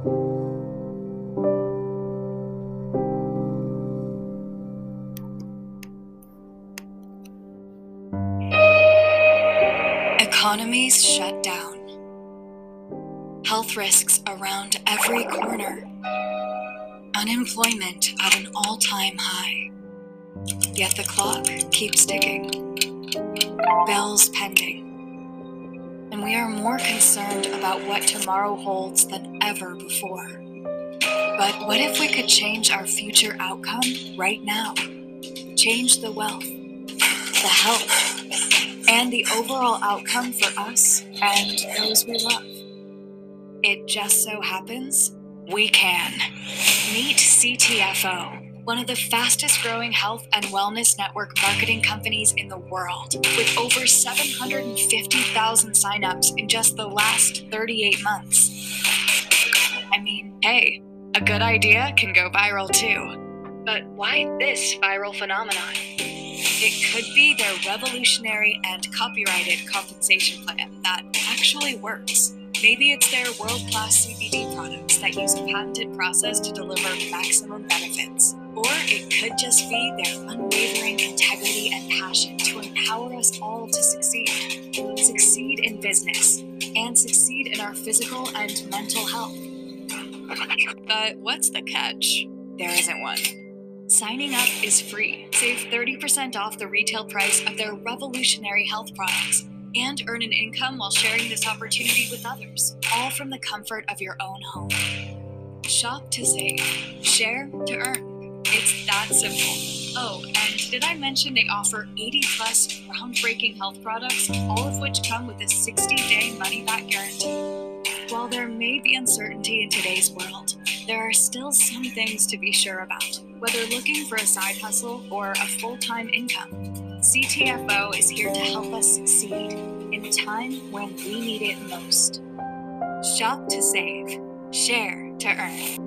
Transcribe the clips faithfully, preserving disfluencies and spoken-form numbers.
Economies shut down. Health risks around every corner. Unemployment at an all-time high. Yet the clock keeps ticking. Bills pending. And we are more concerned about what tomorrow holds than ever before. But what if we could change our future outcome right now? Change the wealth, the health, and the overall outcome for us and those we love. It just so happens we can. Meet C T F O, one of the fastest growing health and wellness network marketing companies in the world, with over seven hundred fifty thousand signups in just the last thirty-eight months. I mean, hey, a good idea can go viral too. But why this viral phenomenon? It could be their revolutionary and copyrighted compensation plan that actually works. Maybe it's their world-class C B D products that use a patented process to deliver maximum benefits. Or it could just be their unwavering integrity and passion to empower us all to succeed. Succeed in business and succeed in our physical and mental health. But what's the catch? There isn't one. Signing up is free. Save thirty percent off the retail price of their revolutionary health products and earn an income while sharing this opportunity with others, all from the comfort of your own home. Shop to save. Share to earn. It's that simple. Oh, and did I mention they offer eighty plus groundbreaking health products, all of which come with a sixty day money-back guarantee? While there may be uncertainty in today's world, there are still some things to be sure about. Whether looking for a side hustle or a full-time income, C T F O is here to help us succeed in a time when we need it most. Shop to save. Share to earn.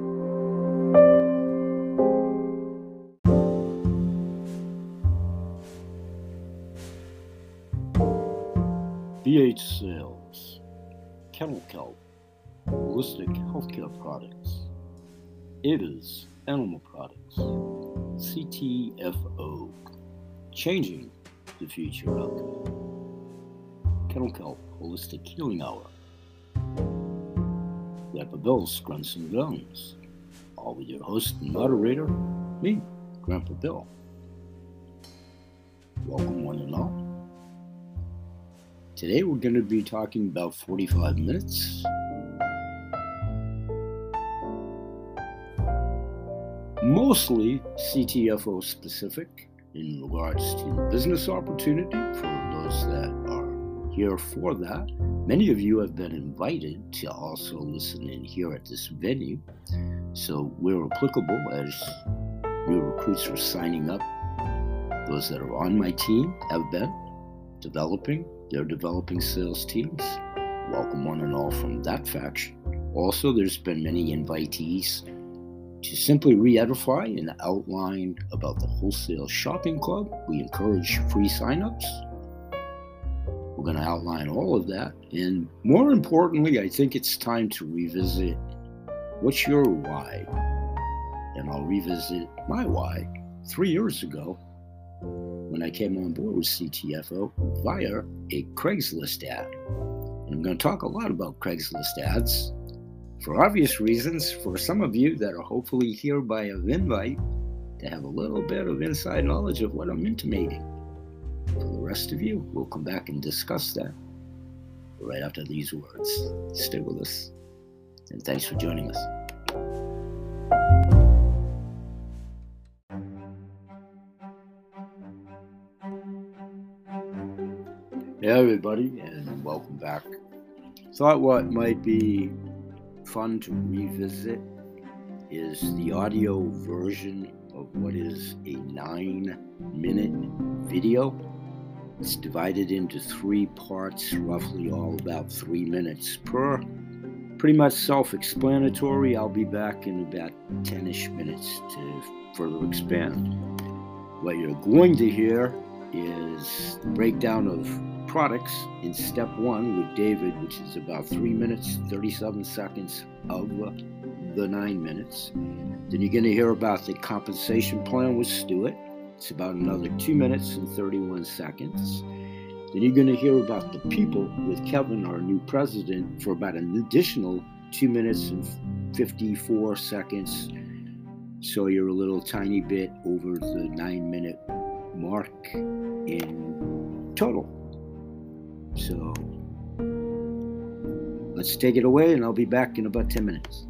B H Sales, Kennel Kelp, Holistic Healthcare Products, Ava's Animal Products, C T F O, Changing the Future Outcome, Kennel Kelp Holistic Healing Hour, Grandpa Bill's Grunts and Guns, all with your host and moderator, me, Grandpa Bill. Welcome one and all. Today we're going to be talking about forty-five minutes. Mostly C T F O specific in regards to the business opportunity for those that are here for that. Many of you have been invited to also listen in here at this venue. So we're applicable as new recruits are signing up. Those that are on my team have been developing. They're developing sales teams. Welcome one and all from that faction. Also, there's been many invitees to simply re-edify and outline about the Wholesale Shopping Club. We encourage free signups. We're going to outline all of that. And more importantly, I think it's time to revisit what's your why. And I'll revisit my why three years ago when I came on board with C T F O via a Craigslist ad. And I'm going to talk a lot about Craigslist ads for obvious reasons, for some of you that are hopefully here by an invite to have a little bit of inside knowledge of what I'm intimating. For the rest of you, we'll come back and discuss that right after these words. Stay with us, and thanks for joining us. Hey everybody, and welcome back. Thought what might be fun to revisit is the audio version of what is a nine minute video. It's divided into three parts, roughly all about three minutes per. Pretty much self-explanatory. I'll be back in about ten-ish minutes to further expand. What you're going to hear is the breakdown of products in step one with David, which is about three minutes, thirty-seven seconds of uh, the nine minutes. Then you're going to hear about the compensation plan with Stuart. It's about another two minutes and thirty-one seconds. Then you're going to hear about the people with Kevin, our new president, for about an additional two minutes and fifty-four seconds. So you're a little tiny bit over the nine minute mark in total. So let's take it away, and I'll be back in about ten minutes.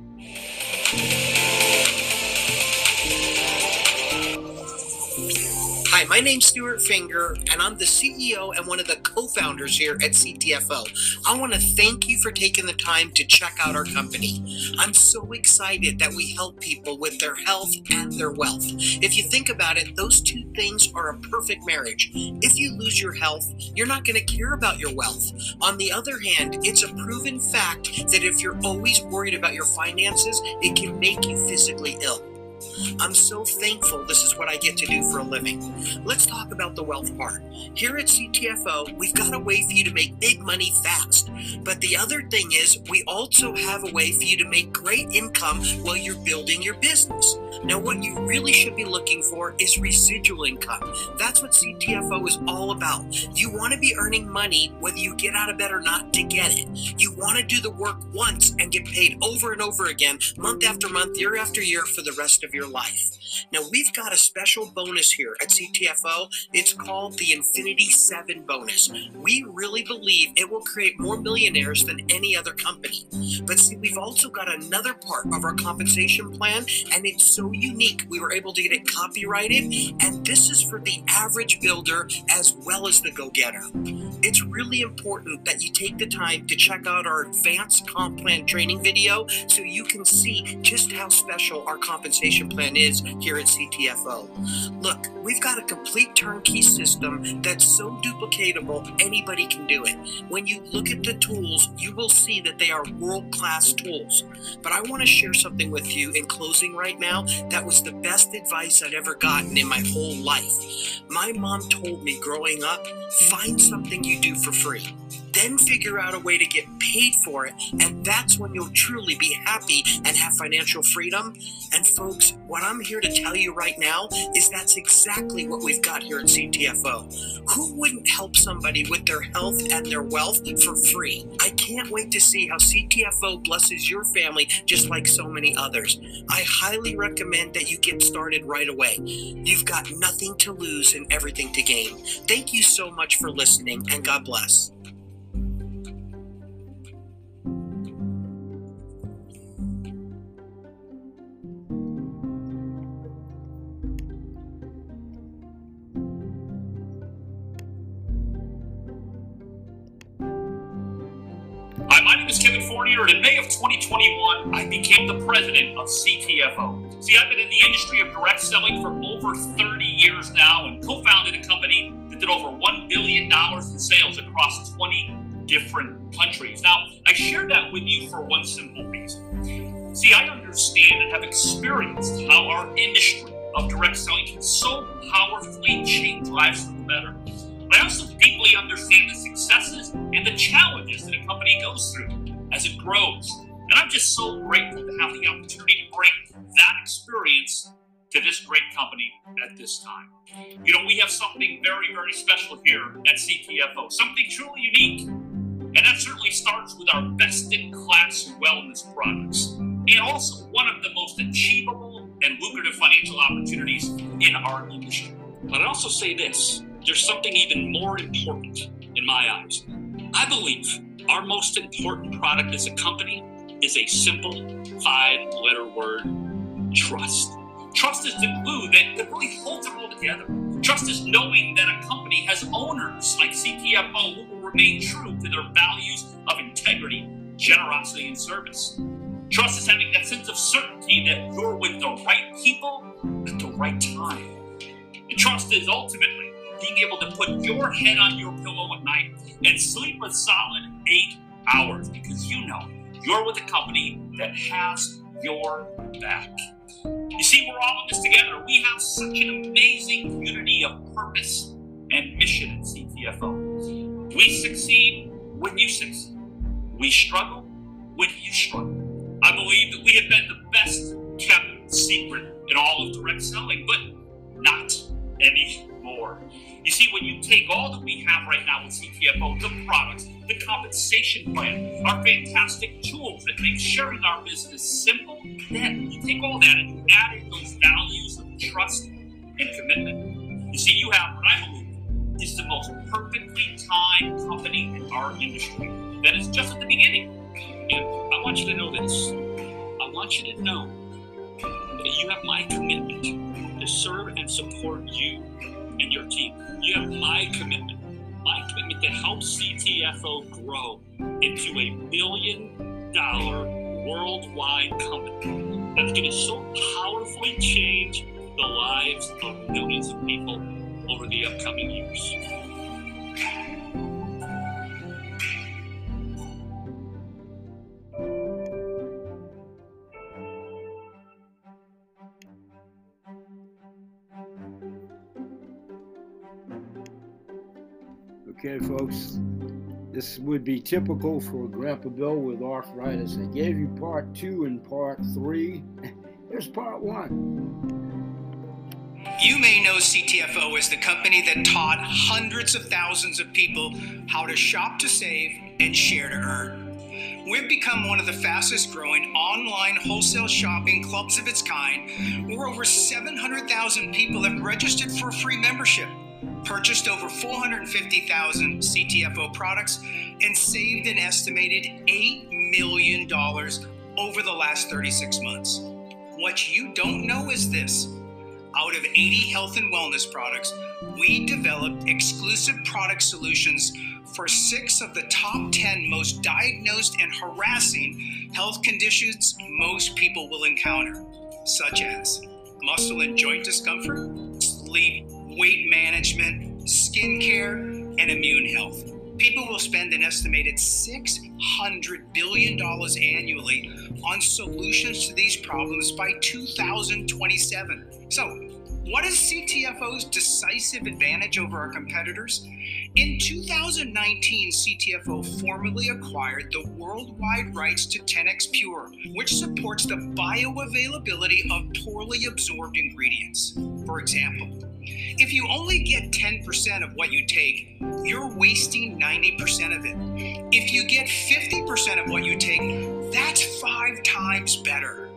Hi, my name's Stuart Finger, and I'm the C E O and one of the co-founders here at C T F O. I want to thank you for taking the time to check out our company. I'm so excited that we help people with their health and their wealth. If you think about it, those two things are a perfect marriage. If you lose your health, you're not going to care about your wealth. On the other hand, it's a proven fact that if you're always worried about your finances, it can make you physically ill. I'm so thankful this is what I get to do for a living. Let's talk about the wealth part. Here at C T F O, we've got a way for you to make big money fast. But the other thing is, we also have a way for you to make great income while you're building your business. Now, what you really should be looking for is residual income. That's what C T F O is all about. You want to be earning money whether you get out of bed or not to get it. You want to do the work once and get paid over and over again, month after month, year after year, for the rest of your life. Now, we've got a special bonus here at C T F O. It's called the Infinity seven bonus. We really believe it will create more millionaires than any other company. But see, we've also got another part of our compensation plan, and it's so unique. We were able to get it copyrighted, and this is for the average builder as well as the go-getter. It's really important that you take the time to check out our advanced comp plan training video so you can see just how special our compensation plan is here at C T F O. Look, we've got a complete turnkey system that's so duplicatable, anybody can do it. When you look at the tools, you will see that they are world-class tools. But I want to share something with you in closing right now that was the best advice I'd ever gotten in my whole life. My mom told me growing up, find something you do for free. Then figure out a way to get paid for it, and that's when you'll truly be happy and have financial freedom. And folks, what I'm here to tell you right now is that's exactly what we've got here at C T F O. Who wouldn't help somebody with their health and their wealth for free? I can't wait to see how C T F O blesses your family just like so many others. I highly recommend that you get started right away. You've got nothing to lose and everything to gain. Thank you so much for listening, and God bless. Hi, my name is Kevin Fournier, and in May of twenty twenty-one, I became the president of C T F O. See, I've been in the industry of direct selling for over thirty years now and co-founded a company that did over one billion dollars in sales across twenty different countries. Now, I share that with you for one simple reason. See, I understand and have experienced how our industry of direct selling can so powerfully change lives for the better. But I also deeply understand the successes and the challenges that a company goes through as it grows. And I'm just so grateful to have the opportunity to bring that experience to this great company at this time. You know, we have something very, very special here at C T F O, something truly unique. And that certainly starts with our best-in-class wellness products, and also one of the most achievable and lucrative financial opportunities in our industry. But I also say this, there's something even more important in my eyes. I believe our most important product as a company is a simple five-letter word: trust. Trust is the glue that, that really holds it all together. Trust is knowing that a company has owners like C T F O who will remain true to their values of integrity, generosity, and service. Trust is having that sense of certainty that you're with the right people at the right time. And trust is ultimately being able to put your head on your pillow at night and sleep a solid eight hours because you know you're with a company that has your back. You see, we're all in this together. We have such an amazing community of purpose and mission at C T F O. We succeed when you succeed. We struggle when you struggle. I believe that we have been the best kept secret in all of direct selling, but not anymore. You see, when you take all that we have right now with C T F O, the products, the compensation plan, our fantastic tools that make sharing our business simple, then you take all that and you add in those values of trust and commitment. You see, you have what I believe is the most perfectly timed company in our industry that is just at the beginning. And I want you to know this. I want you to know that you have my commitment to serve and support you and your team. You have my commitment, my commitment to help C T F O grow into a billion dollar worldwide company that's going to so powerfully change the lives of millions of people over the upcoming years. Okay, folks, this would be typical for Grandpa Bill with arthritis. I gave you part two and part three. Here's part one. You may know C T F O as the company that taught hundreds of thousands of people how to shop to save and share to earn. We've become one of the fastest growing online wholesale shopping clubs of its kind, where over seven hundred thousand people have registered for a free membership, purchased over four hundred fifty thousand C T F O products, and saved an estimated eight million dollars over the last thirty-six months. What you don't know is this. Out of eighty health and wellness products, we developed exclusive product solutions for six of the top ten most diagnosed and harassing health conditions most people will encounter, such as muscle and joint discomfort, sleep, weight management, skin care, and immune health. People will spend an estimated six hundred billion dollars annually on solutions to these problems by two thousand twenty-seven. So, what is C T F O's decisive advantage over our competitors? In two thousand nineteen, C T F O formally acquired the worldwide rights to ten X Pure, which supports the bioavailability of poorly absorbed ingredients. For example, if you only get ten percent of what you take, you're wasting ninety percent of it. If you get fifty percent of what you take, that's five times better.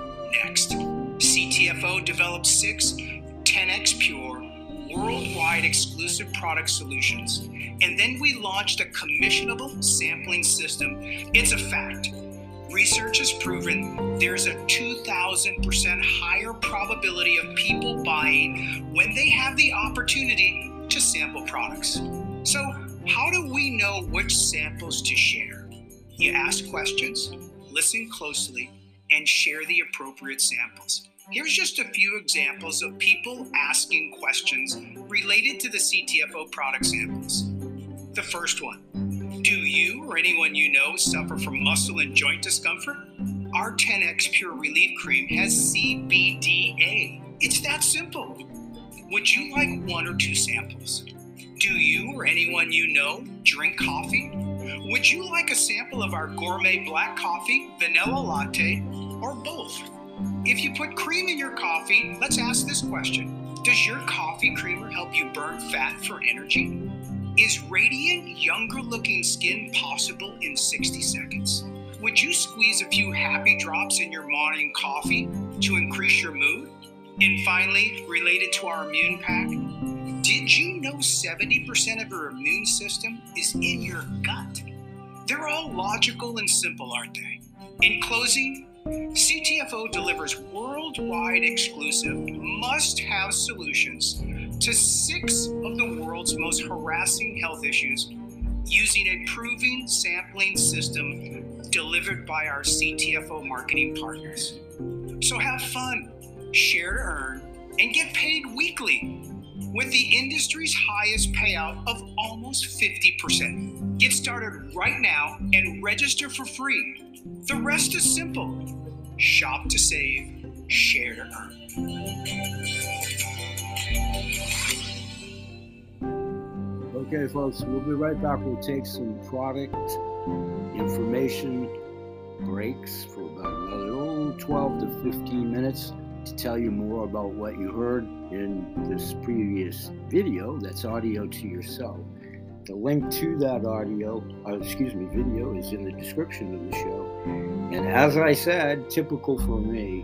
Next, C T F O developed six ten X Pure worldwide exclusive product solutions, and then we launched a commissionable sampling system. It's a fact. Research has proven there's a two thousand percent higher probability of people buying when they have the opportunity to sample products. So how do we know which samples to share? You ask questions, listen closely, and share the appropriate samples. Here's just a few examples of people asking questions related to the C T F O product samples. The first one. Do you or anyone you know suffer from muscle and joint discomfort? Our ten X Pure Relief Cream has C B D A. It's that simple. Would you like one or two samples? Do you or anyone you know drink coffee? Would you like a sample of our gourmet black coffee, vanilla latte, or both? If you put cream in your coffee, let's ask this question. Does your coffee creamer help you burn fat for energy? Is radiant, younger-looking skin possible in sixty seconds? Would you squeeze a few happy drops in your morning coffee to increase your mood? And finally, related to our immune pack, did you know seventy percent of your immune system is in your gut? They're all logical and simple, aren't they? In closing, C T F O delivers worldwide exclusive must-have solutions to six of the world's most harassing health issues using a proven sampling system delivered by our C T F O marketing partners. So have fun, share to earn, and get paid weekly with the industry's highest payout of almost fifty percent. Get started right now and register for free. The rest is simple. Shop to save, share to earn. Okay, folks, we'll be right back. We'll take some product information breaks for about another oh, twelve to fifteen minutes to tell you more about what you heard in this previous video. That's audio to yourself. The link to that audio, uh, excuse me, video is in the description of the show. And as I said, typical for me,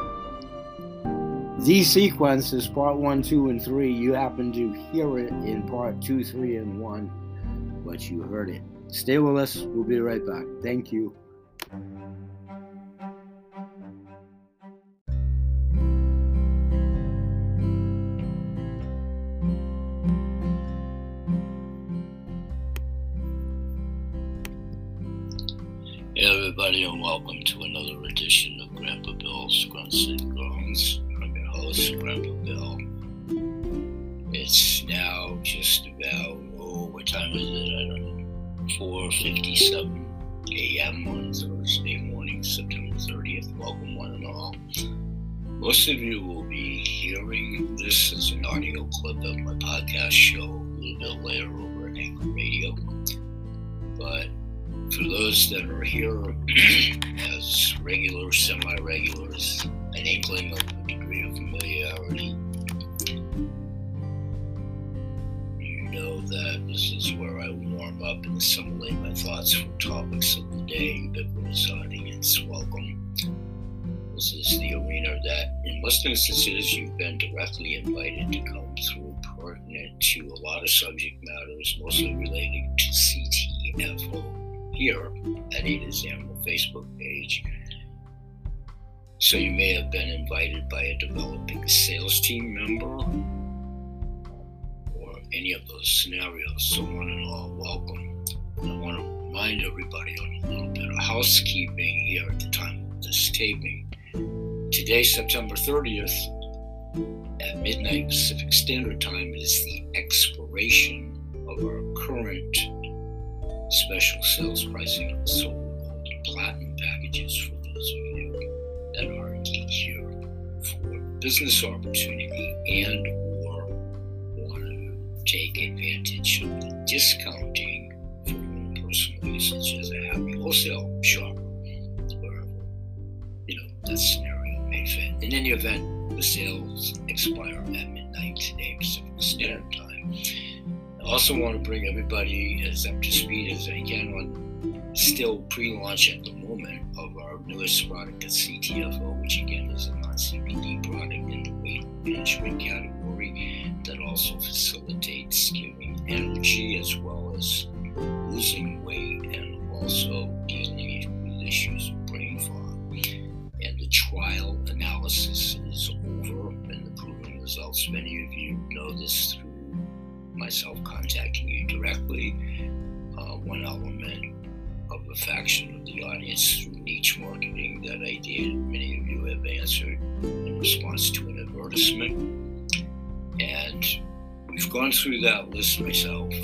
these sequences, part one, two, and three, you happen to hear it in part two, three, and one, but you heard it. Stay with us. We'll be right back. Thank you. Hey everybody, and welcome to another edition of Grandpa Bill's Grunts and Groans. I'm your host, Grandpa Bill. It's now just about, oh, what time is it? I don't know, four fifty-seven a.m. on Thursday morning, September thirtieth. Welcome one and all. Most of you will be hearing this as an audio clip of my podcast show a little bit later over at Anchor Radio. But for those that are here as regular, semi-regulars, an inkling of a degree of familiarity, you know that this is where I warm up and assimilate my thoughts for topics of the day. Ubiquitous audience, welcome. This is the arena that, in most instances, you've been directly invited to come through, pertinent to a lot of subject matters, mostly related to C T F O. Here at Ada's Animal Facebook page. So you may have been invited by a developing sales team member or any of those scenarios. So one and all, welcome. And I want to remind everybody on a little bit of housekeeping here at the time of this taping. Today, September thirtieth, at midnight Pacific Standard Time, is the expiration of our current special sales pricing on silver, gold, and platinum packages for those of you that are indeed here for business opportunity and or want to take advantage of the discounting for your own personal usage as a happy wholesale shopper, wherever, you know, that scenario may fit. In any event, the sales expire at midnight today, Pacific Standard Time. I also want to bring everybody as up to speed as I can on still pre-launch at the moment of our newest product at C T F O, which again is a non-C B D product in the weight management category that also facilitates giving energy as well as losing weight and also dealing with issues of brain fog. And the trial analysis is over and the proven results. Many of you know this through myself contacting you directly. Uh, one element of a faction of the audience through niche marketing that I did. Many of you have answered in response to an advertisement. And we've gone through that list myself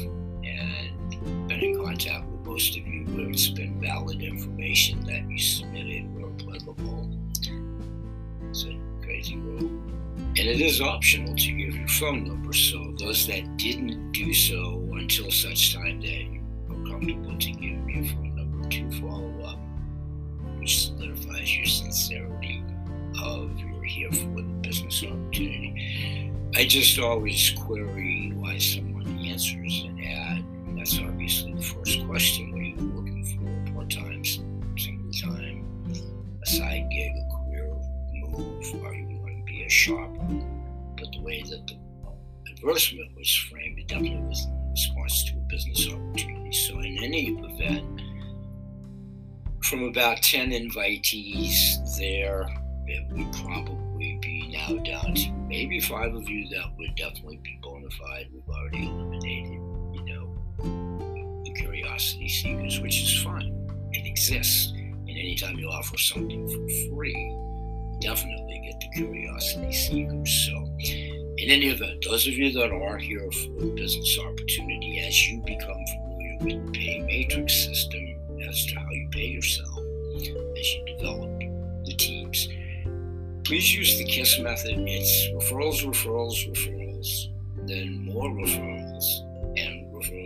and been in contact with most of you where it's been valid information that you submitted or applicable. It's a crazy world. And it is optional to give your phone number, so those that didn't do so until such time that you are comfortable to give me a phone number to follow up, which solidifies your sincerity of you're here for the business opportunity. I just always query why someone answers an ad. That's obviously the first question. What are you looking for? Part-time, single time, a side gig, a career move? Are you a shopper? But the way that the advertisement was framed, it definitely was in response to a business opportunity. So in any event, from about ten invitees there, it would probably be now down to maybe five of you that would definitely be bona fide. We've already eliminated, you know, the curiosity seekers, which is fine. It exists. And anytime you offer something for free, definitely get the curiosity seekers. So in any event, those of you that are here for a business opportunity, as you become familiar with the pay matrix system as to how you pay yourself, as you develop the teams, please use the KISS method. It's referrals, referrals, referrals, then more referrals, and referrals.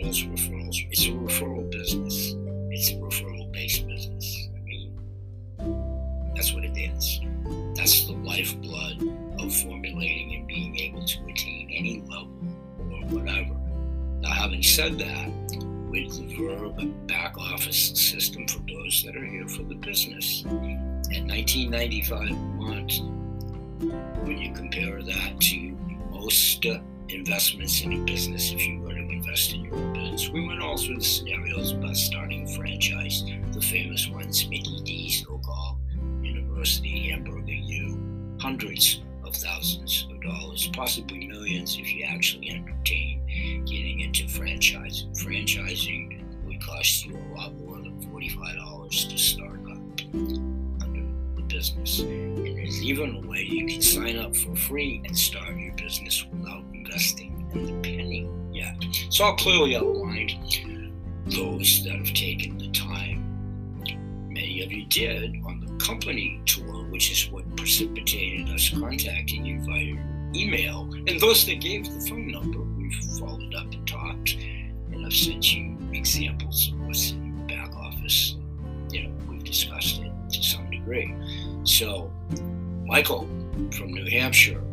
referrals, referrals. It's a referral business. It's a referral-based business. I mean, that's what it is. That's the lifeblood of formulating and being able to attain any level or whatever. Now, having said that, with the verb back office system for those that are here for the business, in nineteen ninety-five months, when you compare that to most uh, investments in a business, if you were to invest in your own business, we went all through the scenarios about starting a franchise, the famous ones, Mickey D's, so-called University, Hamburger U, hundreds of thousands of dollars, possibly millions if you actually entertain getting into franchising. Franchising would cost you a lot more than forty-five dollars to start up under the business. And there's even a way you can sign up for free and start your business without investing in the penny yet. It's all clearly outlined. Those that have taken the time, many of you did on the company tour, which is what precipitated us contacting you via email. And those that gave the phone number, we've followed up and talked, and I've sent you examples of what's in the back office. You know, we've discussed it to some degree. So, Michael from New Hampshire,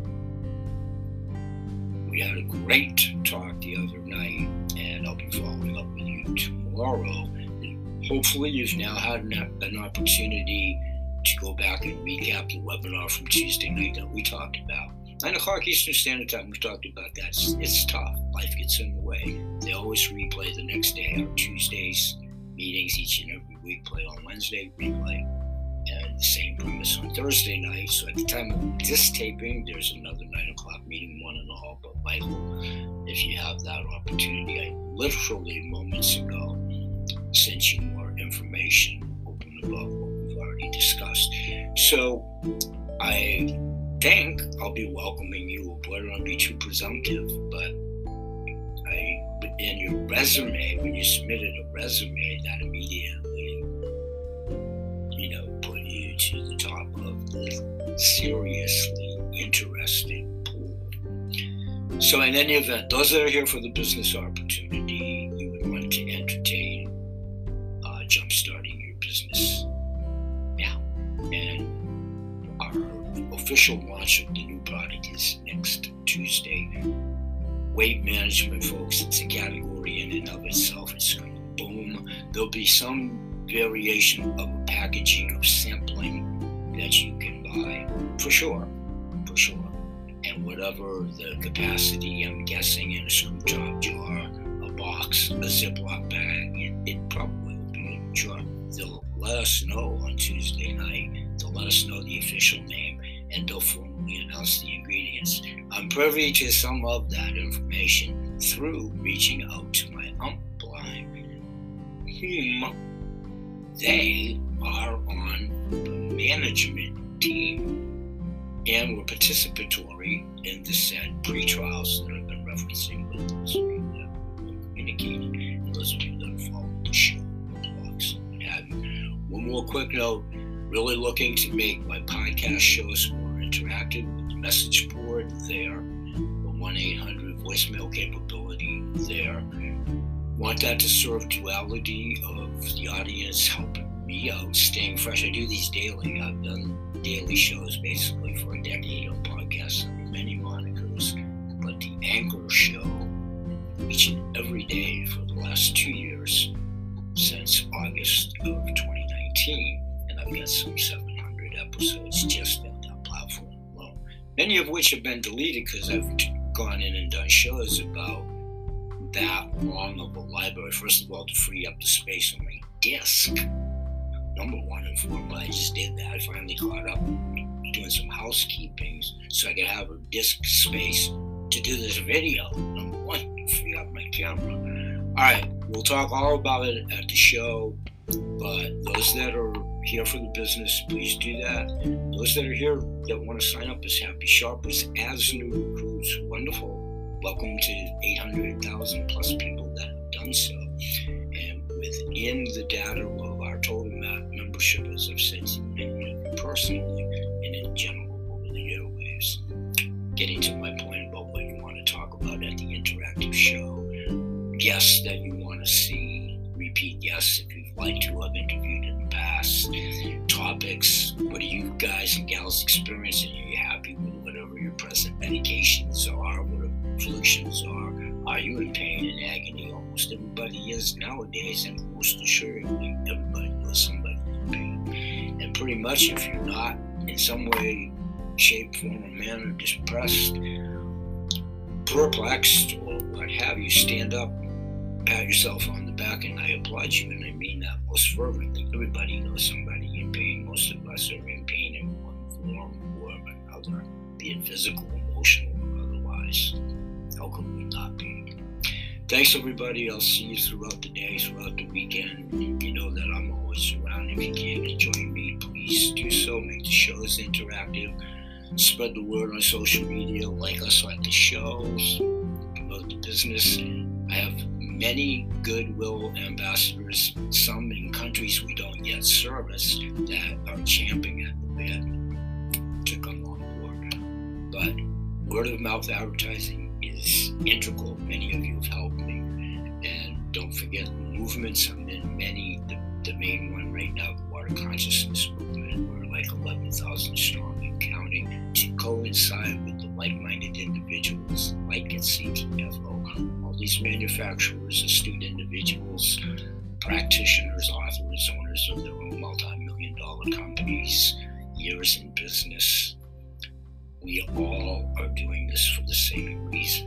we had a great talk the other night, and I'll be following up with you tomorrow. Hopefully you've now had an, an opportunity to go back and recap the webinar from Tuesday night that we talked about. nine o'clock Eastern Standard Time, we talked about that. It's, it's tough. Life gets in the way. They always replay the next day. Our Tuesdays meetings each and every week play on Wednesday, replay. And the same premise on Thursday night. So at the time of this taping, there's another nine o'clock meeting, one and all. But Michael, if you have that opportunity, I literally moments ago sent you more information open about what we've already discussed. So I think I'll be welcoming you. I don't want to be too presumptive, but I, in your resume, when you submitted a resume, that immediately, you know, put you to the top of the seriously interested pool. So in any event, those that are here for the business opportunity, you would want to entertain jumpstarting your business now. And our official launch of the new product is next Tuesday. Weight management, folks, it's a category in and of itself. It's going to boom. There'll be some variation of a packaging of sampling that you can buy, for sure, for sure. And whatever the capacity, I'm guessing in a screw top jar, a box, a Ziploc bag, it, it probably Sure. They'll let us know on Tuesday night. They'll let us know the official name, and they'll formally announce the ingredients. I'm privy to some of that information through reaching out to my upline, whom they are on the management team and were participatory in the said pre-trials that I've been referencing with those of you that are communicating and those of you that are following the show. One more quick note, really looking to make my podcast shows more interactive with the message board there, the one eight hundred voicemail capability there. Want that to serve duality of the audience, helping me out, staying fresh. I do these daily. I've done daily shows basically for a decade on podcasts under many monikers, but the Anchor show each and every day for the last two years since August of twenty nineteen, and I've got some seven hundred episodes just on that platform alone, many of which have been deleted because I've gone in and done shows about that long of a library. First of all, to free up the space on my disk, number one and foremost, I just did that. I finally caught up doing some housekeeping so I could have a disk space to do this video. Number one, to free up my camera. All right, we'll talk all about it at the show, but those that are here for the business, please do that. Those that are here that want to sign up as Happy Sharpers, as new recruits, wonderful. Welcome to eight hundred thousand plus people that have done so. And within the data of our total membership, as I've said to many of you personally and in general over the airwaves, getting to my point about what you want to talk about at the interactive show, guests that you want to see, repeat guests if you'd like to have interviewed in the past, topics. What are you guys and gals experiencing? Are you happy with whatever your present medications are, whatever afflictions are? Are you in pain and agony? Almost everybody is nowadays, and most assuredly, everybody knows somebody in pain. And pretty much, if you're not in some way, shape, form, or manner depressed, perplexed, or what have you, stand up, pat yourself on the back, and I applaud you, and I mean that most fervently. Everybody knows somebody in pain. Most of us are in pain in one form or another, be it physical, emotional, or otherwise. How could we not be? Thanks, everybody. I'll see you throughout the day, throughout the weekend. You know that I'm always around. If you can't join me, please do so. Make the shows interactive. Spread the word on social media. Like us like the shows. Promote the business. I have many goodwill ambassadors, some in countries we don't yet service, that are champing at the bit to come on board. But word of mouth advertising is integral. Many of you have helped me. And don't forget the movements. I'm in many. The, the main one right now, the Water Consciousness Movement. We're like eleven thousand strong and counting, to coincide with the like-minded individuals like at C T F O. All these manufacturers, astute individuals, practitioners, authors, owners of their own multi-million dollar companies, years in business. We all are doing this for the same reason: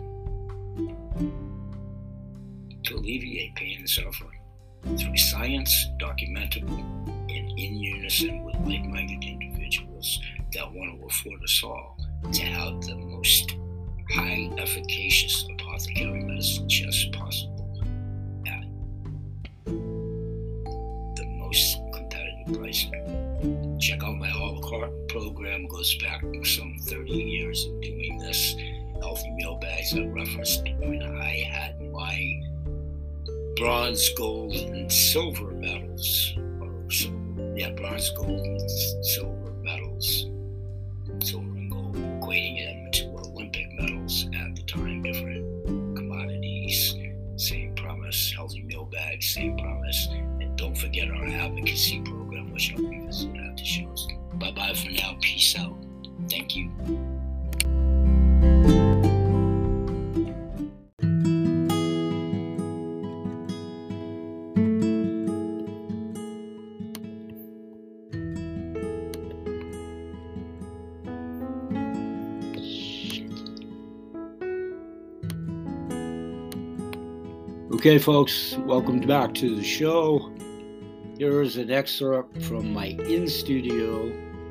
to alleviate pain and suffering through science, documentable, and in unison with like-minded individuals that want to afford us all to have the most high efficacious apothecary medicine chest possible at the most competitive pricing. Check out my a la carte program. Goes back some thirty years of doing this. Healthy meal bags I referenced when I had my bronze, gold, and silver medals. Or silver, yeah, bronze, gold, and silver medals. Silver and gold, equating them to Olympic medals at the time. Different commodities, same promise. Healthy meal bags, same promise. And don't forget our advocacy program, which I'll revisit at the shows. Bye-bye for now. Peace out. Thank you. Okay, folks, welcome back to the show. Here is an excerpt from my in-studio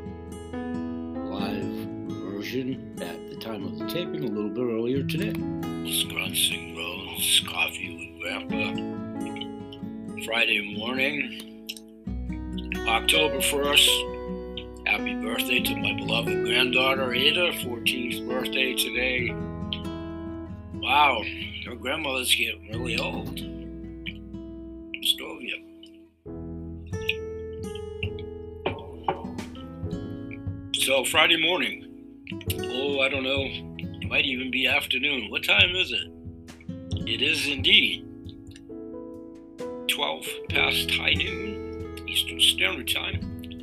live version at the time of the taping, a little bit earlier today. Scrunching Rose, coffee with Grandpa. Friday morning, October first. Happy birthday to my beloved granddaughter, Ada, fourteenth birthday today. Wow, her grandmother's getting really old. Stovia. So Friday morning, oh, I don't know, it might even be afternoon. What time is it? It is indeed twelve past high noon, Eastern Standard Time.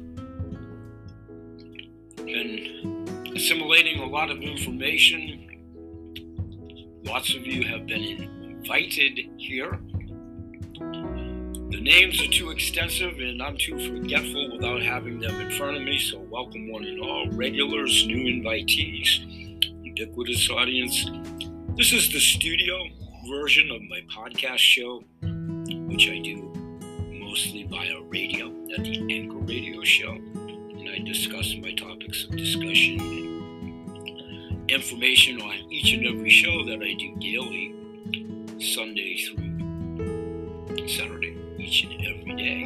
Been assimilating a lot of information. Lots of you have been invited here. The names are too extensive and I'm too forgetful without having them in front of me, so welcome one and all, regulars, new invitees, ubiquitous audience. This is the studio version of my podcast show, which I do mostly via radio at the Anchor Radio Show, and I discuss my topics of discussion and information on each and every show that I do daily, Sunday through Saturday, each and every day.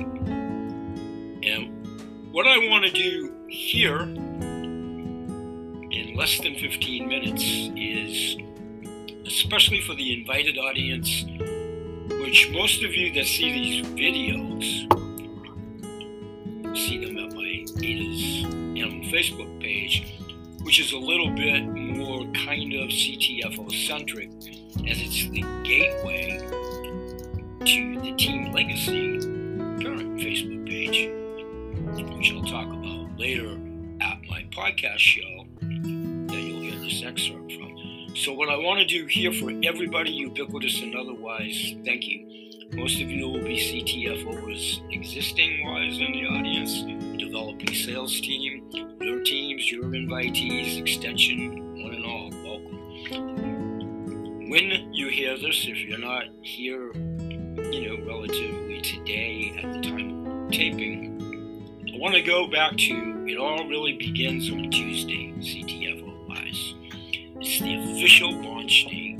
And what I want to do here in less than fifteen minutes is, especially for the invited audience, which most of you that see these videos see them at my Ada's Animal Facebook page, which is a little bit more kind of C T F O-centric, as it's the gateway to the Team Legacy current Facebook page, which I'll talk about later at my podcast show that you'll hear this excerpt from. So what I want to do here for everybody, ubiquitous and otherwise, thank you. Most of you will be C T F Os existing wise in the audience, developing sales team, your teams, your invitees, extension, one and all, welcome. When you hear this, if you're not here, you know, relatively today at the time of taping, I want to go back to, it all really begins on Tuesday, C T F O-wise. It's the official launch date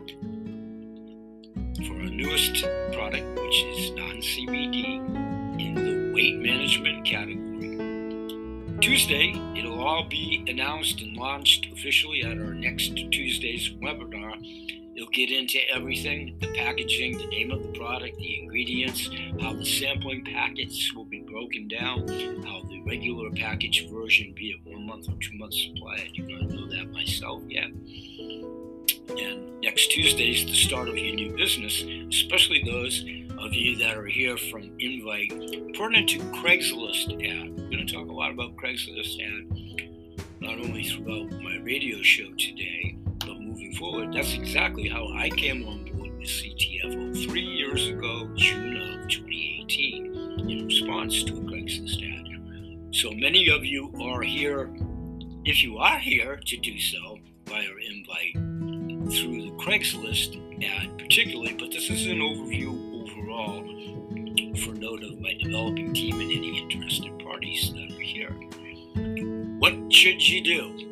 for our newest product, which is non-C B D in the weight management category. Tuesday, it'll all be announced and launched officially at our next Tuesday's webinar. It'll get into everything, the packaging, the name of the product, the ingredients, how the sampling packets will be broken down, how the regular package version, be it one month or two month supply, I do not know that myself yet. And next Tuesday is the start of your new business, especially those of you that are here from Invite. Pertinent to Craigslist ad. We're going to talk a lot about Craigslist ad, not only throughout my radio show today, but moving forward. That's exactly how I came on board with C T F O three years ago, June of twenty eighteen, in response to a Craigslist ad. So many of you are here, if you are here to do so via Invite, through the Craigslist ad particularly, but this is an overview overall for note of my developing team and any interested parties that are here. What should you do?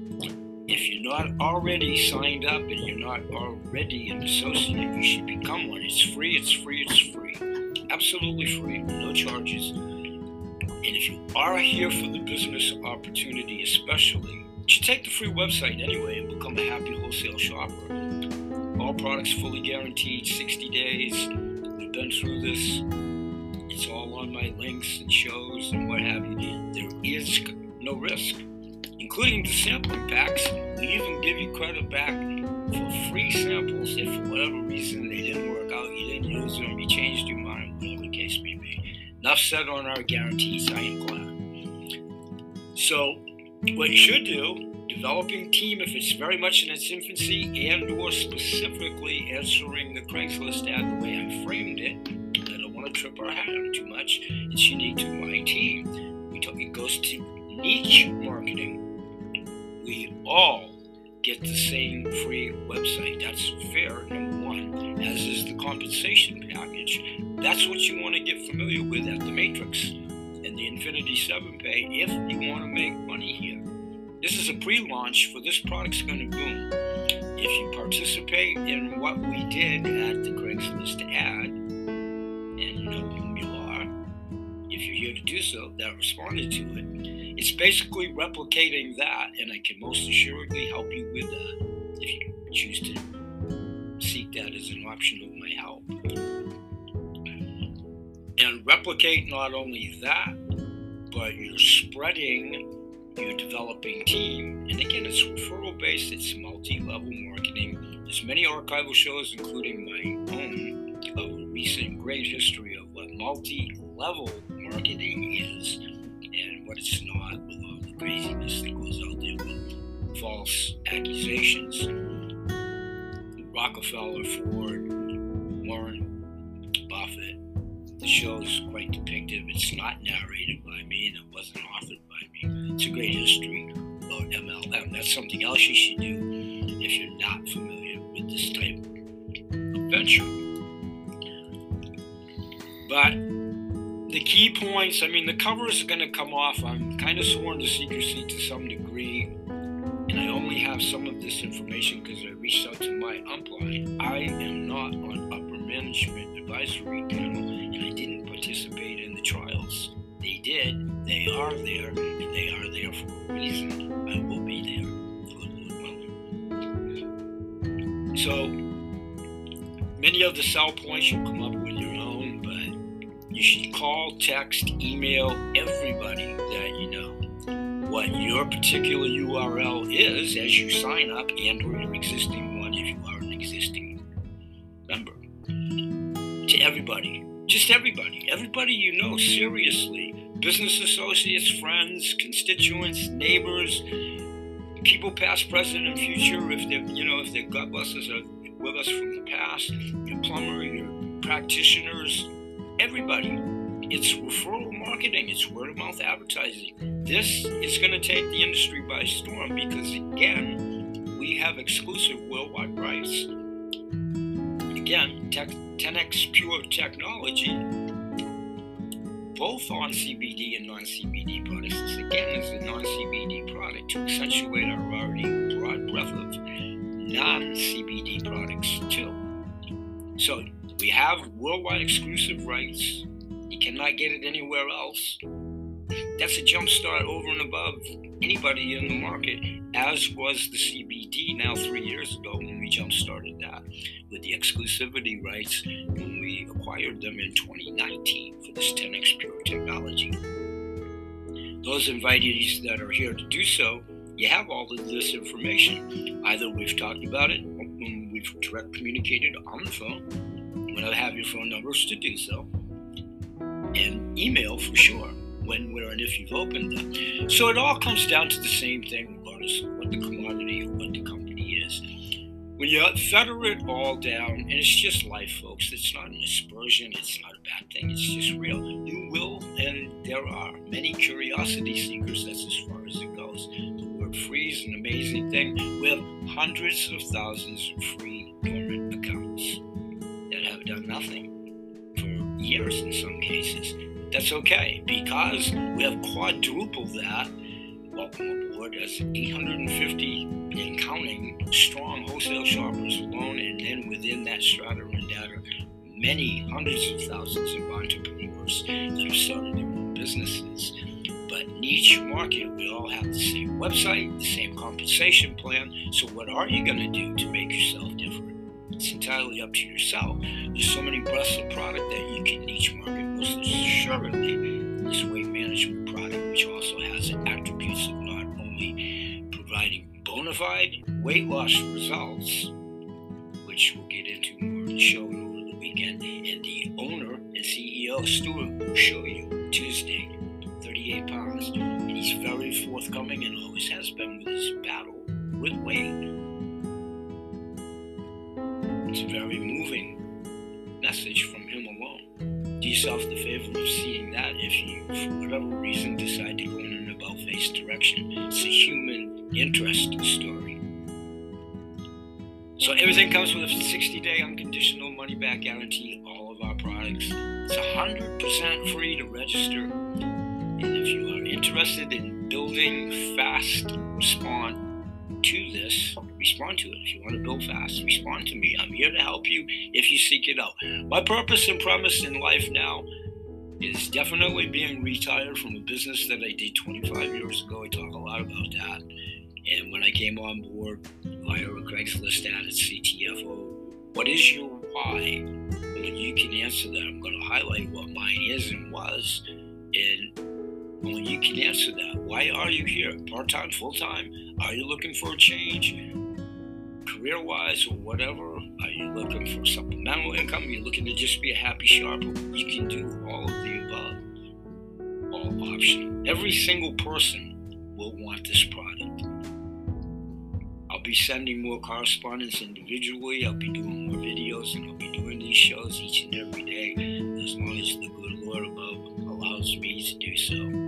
If you're not already signed up and you're not already an associate, you should become one. It's free, it's free, it's free. Absolutely free, no charges. And if you are here for the business opportunity especially, you should take the free website anyway and become a happy wholesale shopper. All products fully guaranteed, sixty days. We've been through this. It's all on my links and shows and what have you. There is no risk, including the sampling packs. We even give you credit back for free samples if for whatever reason they didn't work out, you didn't use them, you changed your mind, whatever the case may be. Enough said on our guarantees, I am glad. So what you should do, developing team, if it's very much in its infancy and or specifically answering the Craigslist ad the way I framed it, I don't want to trip our hat on too much, it's unique to my team. We talk, it goes to niche marketing. We all get the same free website. That's fair, number one, as is the compensation package. That's what you want to get familiar with at the Matrix and the Infinity seven Pay if you want to make money here. This is a pre-launch for this product's going to boom. If you participate in what we did at the Craigslist ad, and you know whom you are, if you're here to do so, that responded to it, it's basically replicating that, and I can most assuredly help you with that if you choose to seek that as an option of my help. And replicate not only that, but you're spreading your developing team. And again, it's referral based, it's multi-level marketing. There's many archival shows, including my own, of a recent great history of what multi-level marketing is and what it's not, with all the craziness that goes out there with false accusations. Rockefeller, Ford, Warren Buffett. The show's quite depictive. It's not narrated by me and it wasn't authored by me. It's a great history about M L M. That's something else you should do if you're not familiar with this type of venture. But the key points, I mean, the covers are going to come off. I'm kind of sworn to secrecy to some degree, and I only have some of this information because I reached out to my upline. I am not on upper management advisory panel, and I didn't participate in the trials. They did. They are there, and they are there for a reason. I will be there. Good Lord willing. So, many of the sell points you come up with your own, but you should call, text, email everybody that you know what your particular U R L is as you sign up, and or your existing one if you are an existing member. To everybody, just everybody, everybody you know, seriously, business associates, friends, constituents, neighbors, people past, present, and future, if they're, you know, if their gut busters are with us from the past, your plumber, your practitioners, everybody. It's referral marketing, it's word of mouth advertising. This is going to take the industry by storm because, again, we have exclusive worldwide rights. Again, ten X Pure technology, both on C B D and non-C B D products. This, again, is a non-C B D product to accentuate our already broad breadth of non-C B D products, too. So we have worldwide exclusive rights. You cannot get it anywhere else. That's a jump start over and above anybody in the market, as was the C B D now three years ago when we jump started that with the exclusivity rights when we acquired them in twenty nineteen for this ten X Pure technology. Those invitees that are here to do so, you have all of this information. Either we've talked about it when we've direct communicated on the phone, when I have your phone numbers to do so, and email for sure, when, where, and if you've opened them. So it all comes down to the same thing, regardless of what the commodity or what the company is. When you feather it all down, and it's just life, folks, it's not an aspersion, it's not a bad thing, it's just real. You will, and there are many curiosity seekers, that's as far as it goes. The word free is an amazing thing. We have hundreds of thousands of free dormant accounts that have done nothing for years in some cases. That's okay, because we have quadrupled that. Welcome aboard as eight hundred fifty and counting strong wholesale shoppers alone, and then within that strata and data, many hundreds of thousands of entrepreneurs that have started their own businesses. But niche market, we all have the same website, the same compensation plan. So what are you going to do to make yourself different? It's entirely up to yourself. There's so many breadths of product that you can niche market. Most assuredly, this weight management product, which also has attributes of not only providing bona fide weight loss results, which we'll get into more in the show over the weekend, and the owner and C E O, Stuart, will show you Tuesday, thirty-eight pounds, and he's very forthcoming and always has been with his battle with weight. It's a very moving message from him alone. Do yourself the favor of seeing that if you, for whatever reason, decide to go in an about-face direction. It's a human interest story. So everything comes with a sixty-day unconditional money-back guarantee, all of our products. It's one hundred percent free to register. And if you are interested in building fast, respond to this, respond to it. If you want to build fast, respond to me. I'm here to help you if you seek it out. My purpose and premise in life now is definitely being retired from a business that I did twenty-five years ago. I talk a lot about that. And when I came on board via a Craigslist ad at C T F O, what is your why? When you can answer that, I'm going to highlight what mine is and was. And when you can answer that, why are you here? Part-time, full-time? Are you looking for a change? Career-wise or whatever? Are you looking for supplemental income? Are you looking to just be a happy shopper? You can do all of the above. All optional. Every single person will want this product. I'll be sending more correspondence individually. I'll be doing more videos, and I'll be doing these shows each and every day, as long as the good Lord above allows me to do so.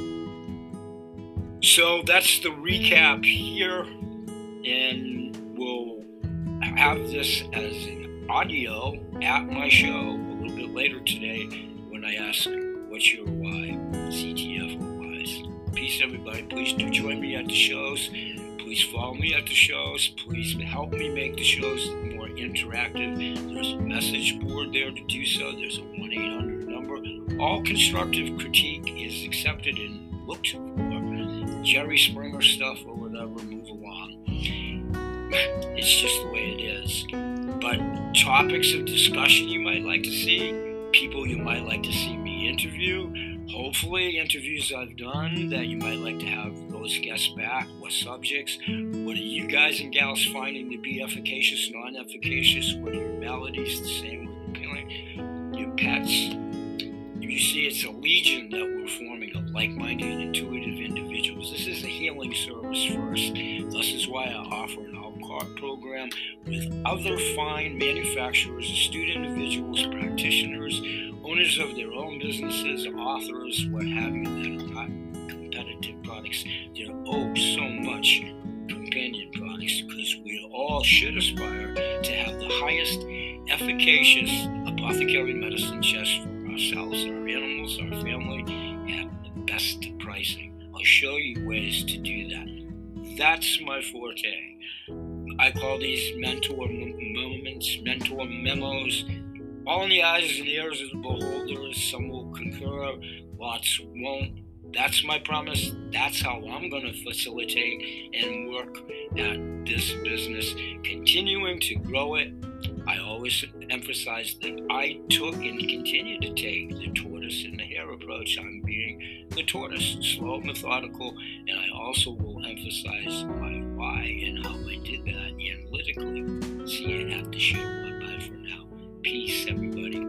So that's the recap here, and we'll have this as an audio at my show a little bit later today when I ask what's your why, C T F O wise. Peace, everybody. Please do join me at the shows. Please follow me at the shows. Please help me make the shows more interactive. There's a message board there to do so. There's a one eight hundred number. All constructive critique is accepted and looked for. Jerry Springer stuff or whatever, move along. It's just the way it is. But topics of discussion you might like to see, people you might like to see me interview, hopefully interviews I've done that you might like to have those guests back, what subjects, what are you guys and gals finding to be efficacious, non-efficacious, what are your maladies, the same with appealing, your pets. You see, it's a legion that we're forming of like-minded, intuitive individuals. This is a healing service first. This is why I offer an a la carte program with other fine manufacturers, astute individuals, practitioners, owners of their own businesses, authors, what have you, that are not competitive products. There are oh so much companion products, because we all should aspire to have the highest efficacious apothecary medicine chest for ourselves, our animals, our family, at the best pricing. I'll show you ways to do that. That's my forte. I call these mentor moments, mentor memos, all in the eyes and ears of the beholders. Some will concur, lots won't. That's my promise. That's how I'm going to facilitate and work at this business, continuing to grow it. I always emphasize that I took and continue to take the tortoise and the hare approach. I'm being the tortoise, slow, methodical, and I also will emphasize my why and how I did that analytically. See you at the show. Bye-bye for now. Peace, everybody.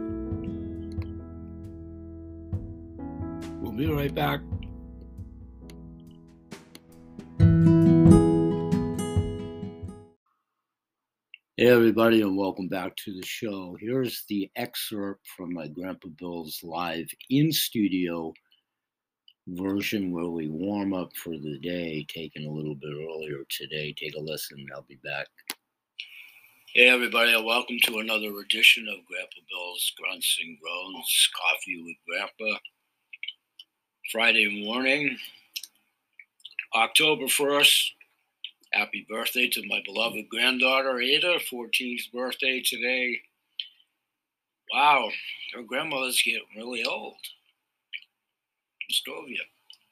We'll be right back. Hey everybody, and welcome back to the show. Here's the excerpt from my Grandpa Bill's live in-studio version where we warm up for the day, taken a little bit earlier today. Take a listen, I'll be back. Hey everybody, and welcome to another edition of Grandpa Bill's Grunts and Groans, Coffee with Grandpa. Friday morning, October first. Happy birthday to my beloved granddaughter, Ada, fourteenth birthday today. Wow, her grandmother's getting really old. Stovia.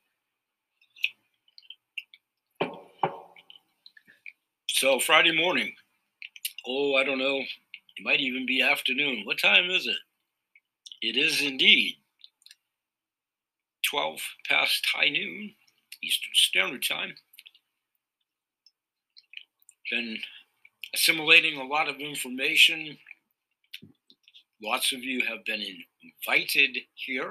So Friday morning, oh, I don't know, it might even be afternoon. What time is it? It is indeed twelve past high noon, Eastern Standard Time. Been assimilating a lot of information. Lots of you have been invited here.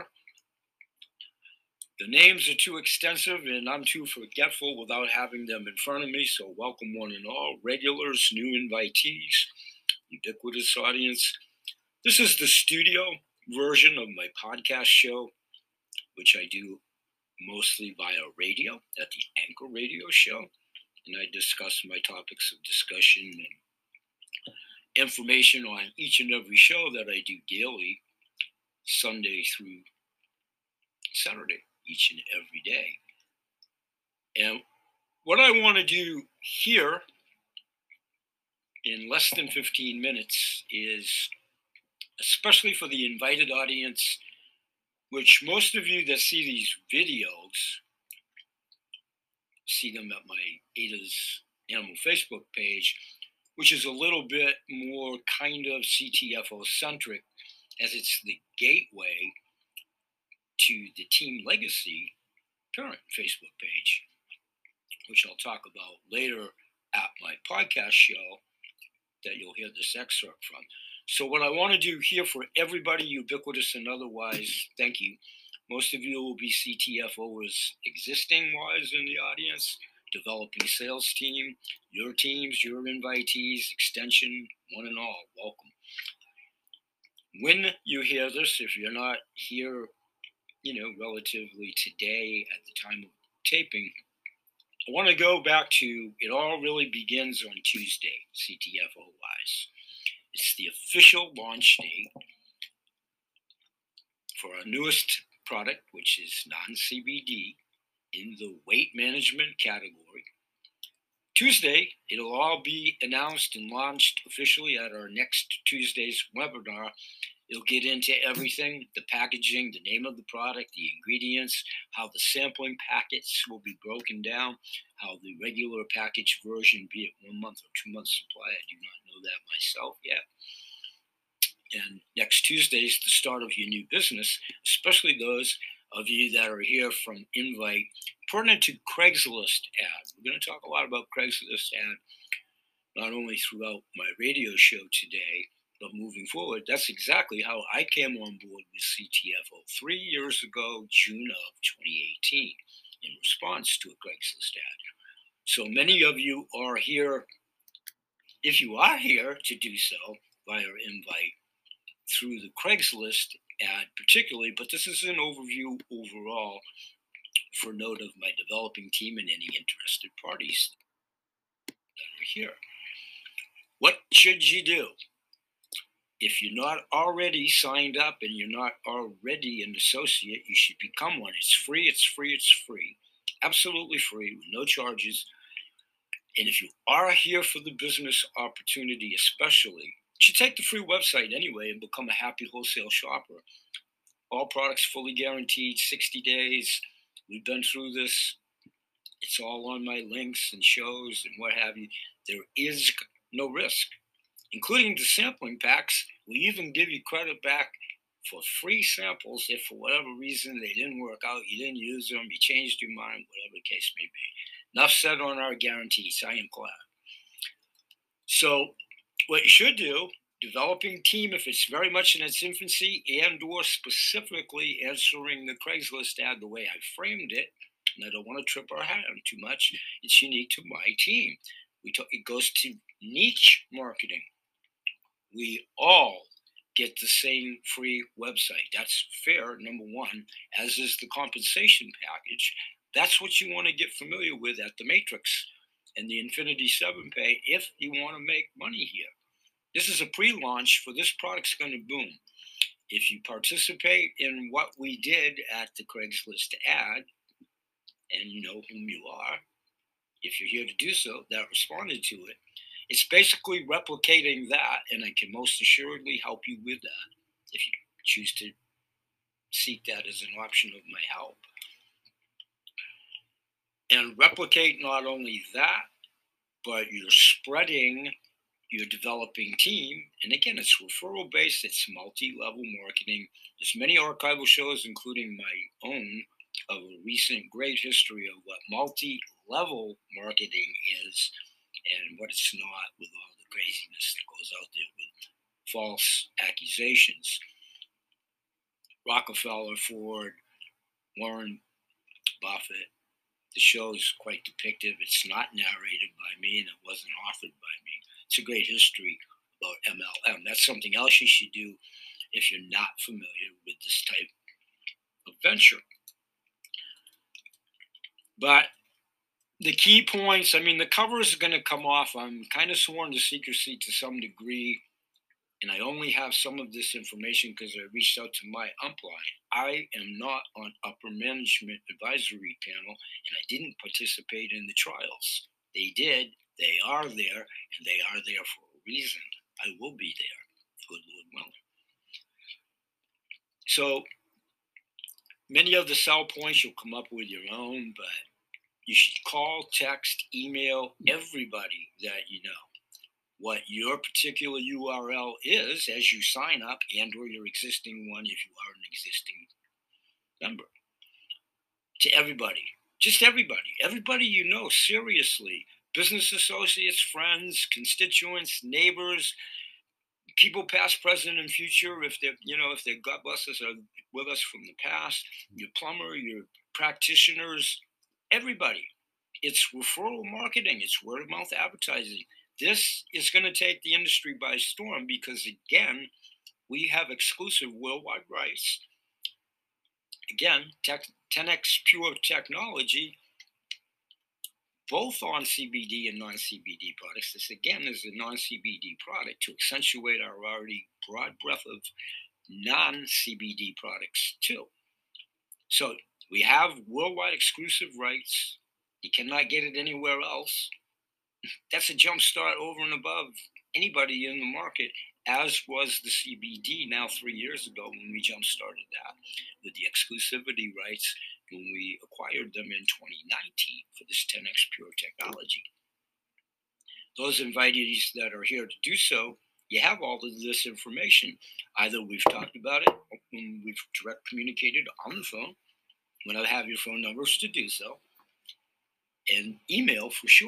The names are too extensive and I'm too forgetful without having them in front of me, so welcome one and all, regulars, new invitees, ubiquitous audience. This is the studio version of my podcast show, which I do mostly via radio at the Anchor Radio Show. And I discuss my topics of discussion and information on each and every show that I do daily, Sunday through Saturday, each and every day. And what I want to do here in less than fifteen minutes is, especially for the invited audience, which most of you that see these videos see them at my Ada's Animal Facebook page, which is a little bit more kind of C T F O-centric, as it's the gateway to the Team Legacy parent Facebook page, which I'll talk about later at my podcast show that you'll hear this excerpt from. So what I want to do here for everybody, ubiquitous and otherwise, thank you. Most of you will be C T F Oers existing-wise in the audience, developing sales team, your teams, your invitees, extension, one and all, welcome. When you hear this, if you're not here, you know, relatively today at the time of taping, I want to go back to, it all really begins on Tuesday, C T F O-wise. It's the official launch date for our newest product, which is non-C B D in the weight management category. Tuesday, it'll all be announced and launched officially at our next Tuesday's webinar. It'll get into everything, the packaging, the name of the product, the ingredients, how the sampling packets will be broken down, how the regular package version, be it one month or two month supply, I do not know that myself yet. And next Tuesday is the start of your new business, especially those of you that are here from Invite, pertinent to Craigslist ad. We're going to talk a lot about Craigslist ad, not only throughout my radio show today, But moving forward, that's exactly how I came on board with C T F O three years ago, June of twenty eighteen, in response to a Craigslist ad. So many of you are here, if you are here to do so via invite through the Craigslist ad particularly, but this is an overview overall for note of my developing team and any interested parties that are here. What should you do? If you're not already signed up and you're not already an associate, you should become one. It's free, it's free, it's free. Absolutely free, with no charges. And if you are here for the business opportunity especially, you should take the free website anyway and become a happy wholesale shopper. All products fully guaranteed, sixty days. We've been through this. It's all on my links and shows and what have you. There is no risk, including the sampling packs. We even give you credit back for free samples if for whatever reason they didn't work out, you didn't use them, you changed your mind, whatever the case may be. Enough said on our guarantees. I am glad. So what you should do, developing team, if it's very much in its infancy, and or specifically answering the Craigslist ad the way I framed it, and I don't want to trip our hat on too much, it's unique to my team. We talk, it goes to niche marketing. We all get the same free website. That's fair, number one, as is the compensation package. That's what you want to get familiar with at the Matrix and the Infinity seven Pay if you want to make money here. This is a pre-launch for this product's going to boom. If you participate in what we did at the Craigslist ad, and you know whom you are, if you're here to do so, that responded to it, it's basically replicating that, and I can most assuredly help you with that if you choose to seek that as an option of my help. And replicate not only that, but you're spreading your developing team. And again, it's referral based, it's multi-level marketing. There's many archival shows, including my own, of a recent great history of what multi-level marketing is and what it's not, with all the craziness that goes out there with false accusations. Rockefeller, Ford, Warren Buffett, the show is quite depictive. It's not narrated by me and it wasn't authored by me. It's a great history about M L M. That's something else you should do if you're not familiar with this type of venture. But the key points, I mean, the cover is going to come off. I'm kind of sworn to secrecy to some degree, and I only have some of this information because I reached out to my upline. I am not on upper management advisory panel, and I didn't participate in the trials. They did. They are there, and they are there for a reason. I will be there, good Lord willing. So many of the sell points you'll come up with your own, but you should call, text, email everybody that you know what your particular U R L is as you sign up, and or your existing one if you are an existing member. To everybody, just everybody, everybody you know, seriously, business associates, friends, constituents, neighbors, people past, present, and future, if they're, you know, if they're, God bless us, are with us from the past, your plumber, your practitioners, everybody. It's referral marketing. It's word of mouth advertising. This is going to take the industry by storm because, again, we have exclusive worldwide rights. Again, tech, ten X Pure technology, both on C B D and non-C B D products. This, again, is a non-C B D product to accentuate our already broad breadth of non-C B D products, too. So we have worldwide exclusive rights. You cannot get it anywhere else. That's a jump start over and above anybody in the market, as was the C B D now three years ago when we jump started that with the exclusivity rights when we acquired them in twenty nineteen for this ten X Pure technology. Those invitees that are here to do so, you have all of this information. Either we've talked about it, or when we've direct communicated on the phone, when I have your phone numbers to do so, and email for sure.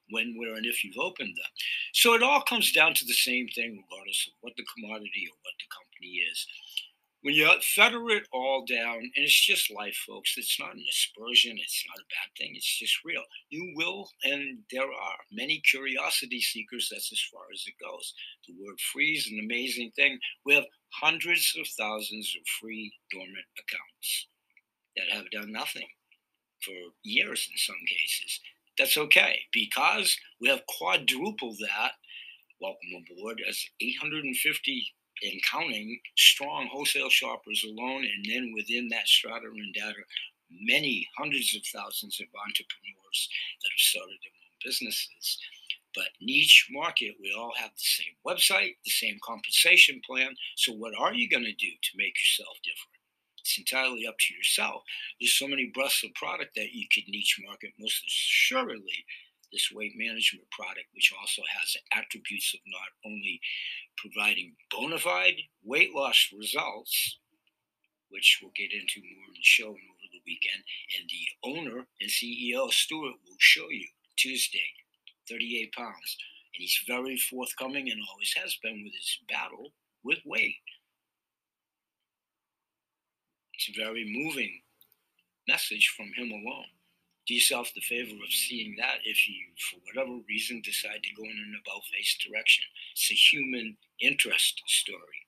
when, where, and if you've opened them. So it all comes down to the same thing, regardless of what the commodity or what the company is. When you feather it all down, and it's just life, folks, it's not an aspersion, it's not a bad thing, it's just real. You will, and there are many curiosity seekers, that's as far as it goes. The word free is an amazing thing. We have hundreds of thousands of free dormant accounts that have done nothing for years in some cases. That's okay, because we have quadrupled that, welcome aboard, as eight hundred fifty and counting strong wholesale shoppers alone, and then within that strata and data, many hundreds of thousands of entrepreneurs that have started their own businesses. But niche market, we all have the same website, the same compensation plan. So what are you going to do to make yourself different? It's entirely up to yourself. There's so many breadths of product that you could niche market. Most assuredly, this weight management product, which also has attributes of not only providing bona fide weight loss results, which we'll get into more in the show and over the weekend, and the owner and C E O, Stuart, will show you Tuesday, thirty-eight pounds. And he's very forthcoming and always has been with his battle with weight. It's a very moving message from him alone. Do yourself the favor of seeing that if you, for whatever reason, decide to go in an about-face direction. It's a human interest story.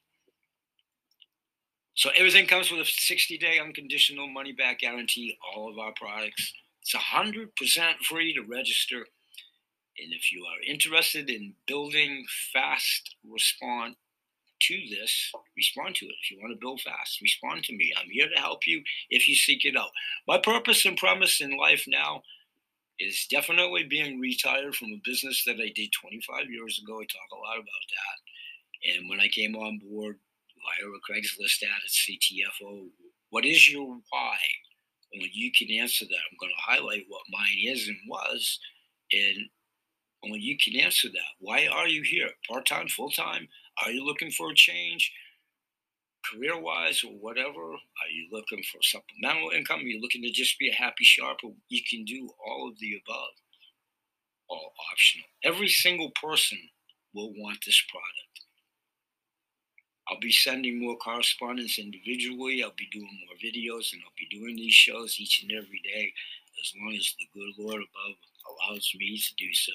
So everything comes with a sixty-day unconditional money-back guarantee, all of our products. It's one hundred percent free to register. And if you are interested in building fast response to this, respond to it. If you want to build fast, respond to me. I'm here to help you if you seek it out. My purpose and premise in life now is definitely being retired from a business that I did twenty-five years ago. I talk a lot about that. And when I came on board via a Craigslist ad at C T F O, what is your why? When you can answer that, I'm going to highlight what mine is and was. And when you can answer that, why are you here? Part-time, full-time? Are you looking for a change, career-wise or whatever? Are you looking for supplemental income? Are you looking to just be a happy shopper? You can do all of the above, all optional. Every single person will want this product. I'll be sending more correspondence individually. I'll be doing more videos, and I'll be doing these shows each and every day as long as the good Lord above allows me to do so.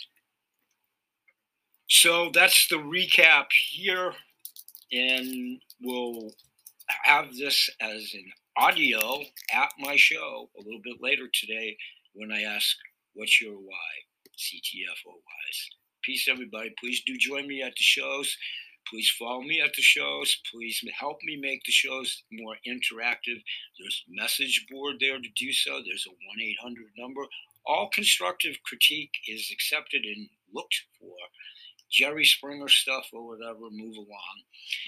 So that's the recap here, and we'll have this as an audio at my show a little bit later today when I ask, what's your why, C T F O-wise? Peace, everybody. Please do join me at the shows. Please follow me at the shows. Please help me make the shows more interactive. There's a message board there to do so. There's a one eight hundred number. All constructive critique is accepted and looked for. Jerry Springer stuff or whatever, move along.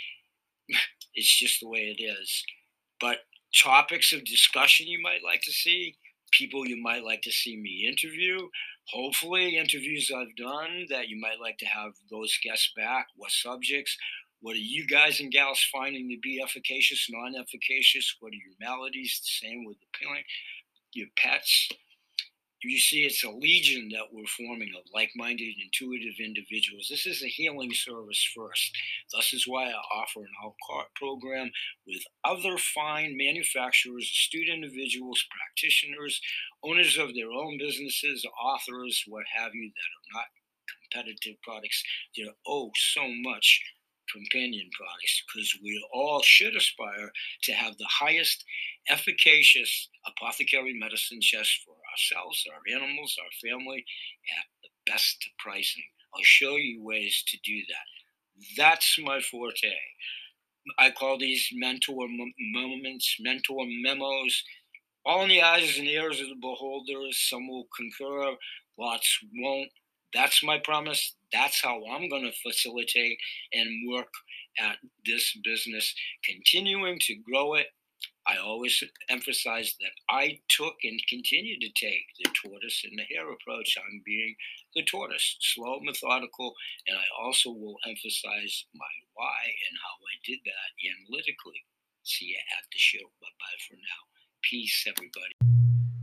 It's just the way it is. But topics of discussion you might like to see, people you might like to see me interview, hopefully interviews I've done that you might like to have those guests back, what subjects, what are you guys and gals finding to be efficacious, non-efficacious, what are your maladies, the same with the parent, your pets. You see, it's a legion that we're forming of like-minded, intuitive individuals. This is a healing service first. Thus is why I offer an a la carte program with other fine manufacturers, astute individuals, practitioners, owners of their own businesses, authors, what have you, that are not competitive products. They're oh so much companion products, because we all should aspire to have the highest efficacious apothecary medicine chest for ourselves, our animals, our family, at the best pricing. I'll show you ways to do that. That's my forte. I call these mentor moments, mentor memos, all in the eyes and ears of the beholders. Some will concur, lots won't. That's my promise. That's how I'm going to facilitate and work at this business, continuing to grow it. I always emphasize that I took and continue to take the tortoise and the hare approach. I'm being the tortoise, slow, methodical, and I also will emphasize my why and how I did that analytically. See you at the show. Bye-bye for now. Peace, everybody.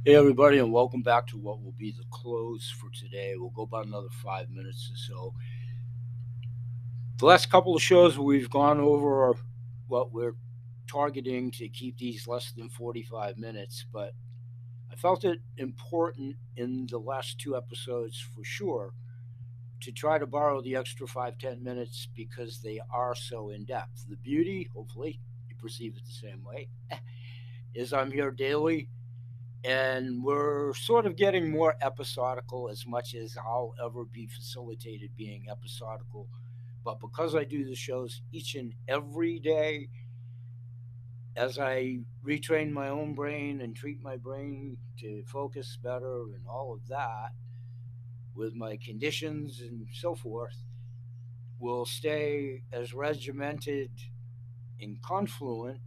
Hey, everybody, and welcome back to what will be the close for today. We'll go about another five minutes or so. The last couple of shows we've gone over what we're targeting to keep these less than forty-five minutes, but I felt it important in the last two episodes for sure to try to borrow the extra five, ten minutes because they are so in depth. The beauty, hopefully, you perceive it the same way, is I'm here daily. And we're sort of getting more episodical as much as I'll ever be facilitated being episodical. But because I do the shows each and every day, as I retrain my own brain and treat my brain to focus better and all of that, with my conditions and so forth, will stay as regimented and confluent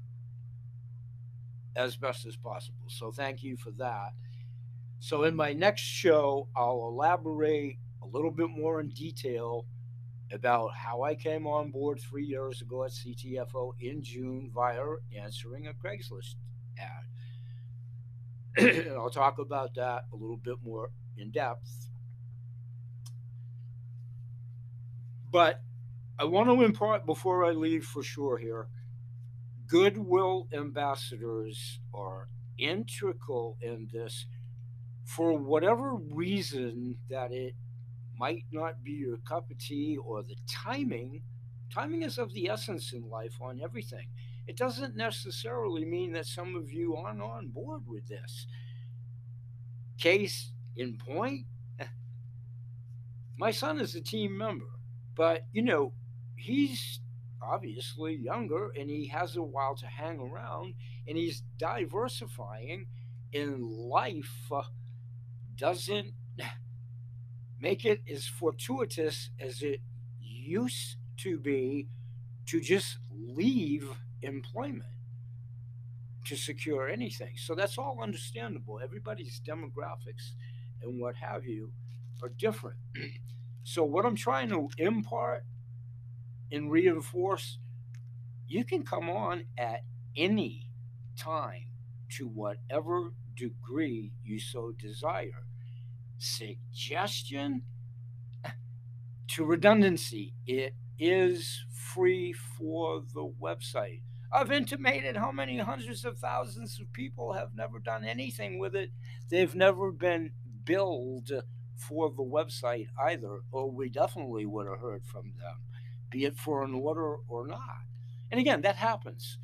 as best as possible. So thank you for that. So in my next show, I'll elaborate a little bit more in detail about how I came on board three years ago at C T F O in June via answering a Craigslist ad. I'll talk about that a little bit more in depth. But I want to impart before I leave for sure here, goodwill ambassadors are integral in this for whatever reason that it might not be your cup of tea or the timing. Timing is of the essence in life on everything. It doesn't necessarily mean that some of you aren't on board with this. Case in point, my son is a team member, but you know, he's obviously younger and he has a while to hang around and he's diversifying in life. Uh, doesn't make it as fortuitous as it used to be to just leave employment to secure anything. So that's all understandable. Everybody's demographics and what have you are different. So what I'm trying to impart and reinforce, you can come on at any time to whatever degree you so desire. Suggestion to redundancy, it is free for the website. I've intimated how many hundreds of thousands of people have never done anything with it. They've never been billed for the website either, or we definitely would have heard from them, be it for an order or not. And again, that happens.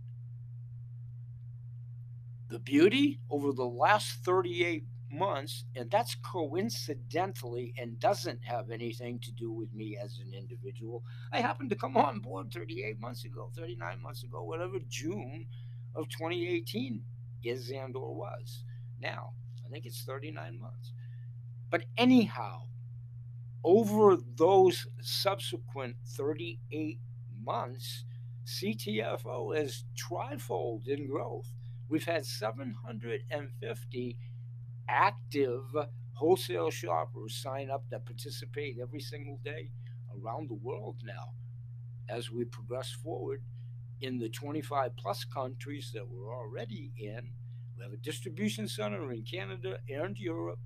The beauty over the last thirty-eight months, and that's coincidentally and doesn't have anything to do with me as an individual. I happened to come on board thirty-eight months ago, thirty-nine months ago, whatever June of twenty eighteen is and or was. Now, I think it's thirty-nine months. But anyhow, over those subsequent thirty-eight months, C T F O has trifold in growth. We've had seven hundred fifty active wholesale shoppers sign up that participate every single day around the world now as we progress forward in the twenty-five plus countries that we're already in. We have a distribution center in Canada and Europe.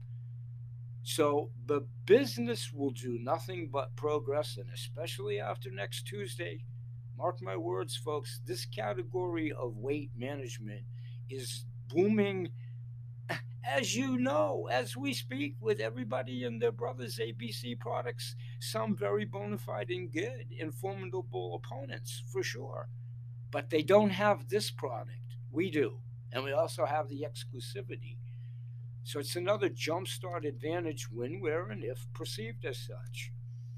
So the business will do nothing but progress, and especially after next Tuesday, mark my words, folks, this category of weight management is booming, as you know, as we speak with everybody and their brothers' A B C products, some very bona fide and good and formidable opponents for sure. But they don't have this product. We do. And we also have the exclusivity. So it's another jumpstart advantage when, where, and if perceived as such.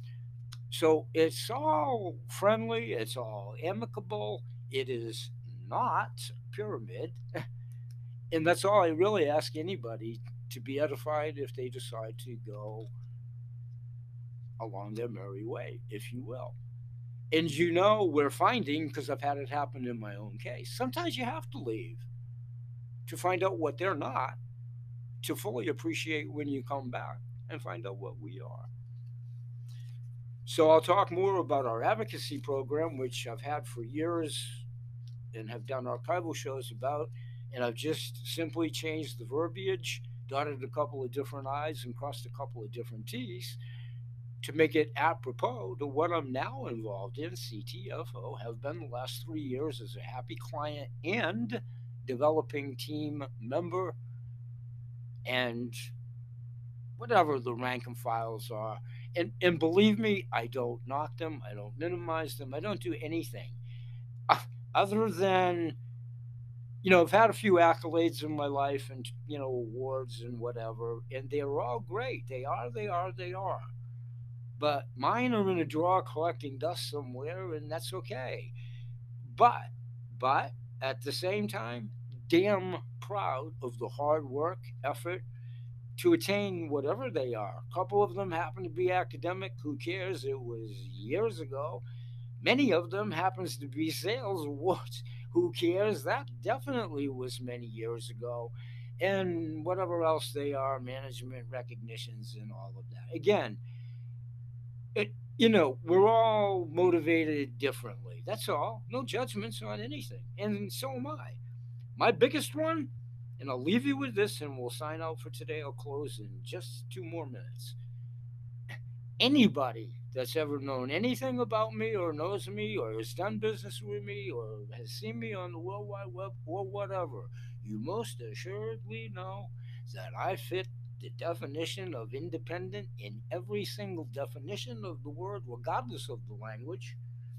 So it's all friendly, it's all amicable, it is not pyramid. And that's all I really ask anybody, to be edified if they decide to go along their merry way, if you will. And you know, we're finding, because I've had it happen in my own case, sometimes you have to leave to find out what they're not, to fully appreciate when you come back and find out what we are. So I'll talk more about our advocacy program, which I've had for years and have done archival shows about, And I've just simply changed the verbiage, dotted a couple of different I's and crossed a couple of different T's to make it apropos to what I'm now involved in. C T F O, have been the last three years as a happy client and developing team member, and whatever the rank and files are. And, and believe me, I don't knock them, I don't minimize them, I don't do anything uh, other than, you know, I've had a few accolades in my life and, you know, awards and whatever, and they're all great. They are, they are, they are. But mine are in a drawer collecting dust somewhere, and that's okay. But, but at the same time, damn proud of the hard work, effort to attain whatever they are. A couple of them happen to be academic. Who cares? It was years ago. Many of them happens to be sales awards. Who cares? That definitely was many years ago. And whatever else they are, management recognitions and all of that. Again, it, you know, we're all motivated differently. That's all. No judgments on anything. And so am I. My biggest one, and I'll leave you with this and we'll sign out for today. I'll close in just two more minutes. Anybody that's ever known anything about me or knows me or has done business with me or has seen me on the World Wide Web or whatever, you most assuredly know that I fit the definition of independent in every single definition of the word, regardless of the language.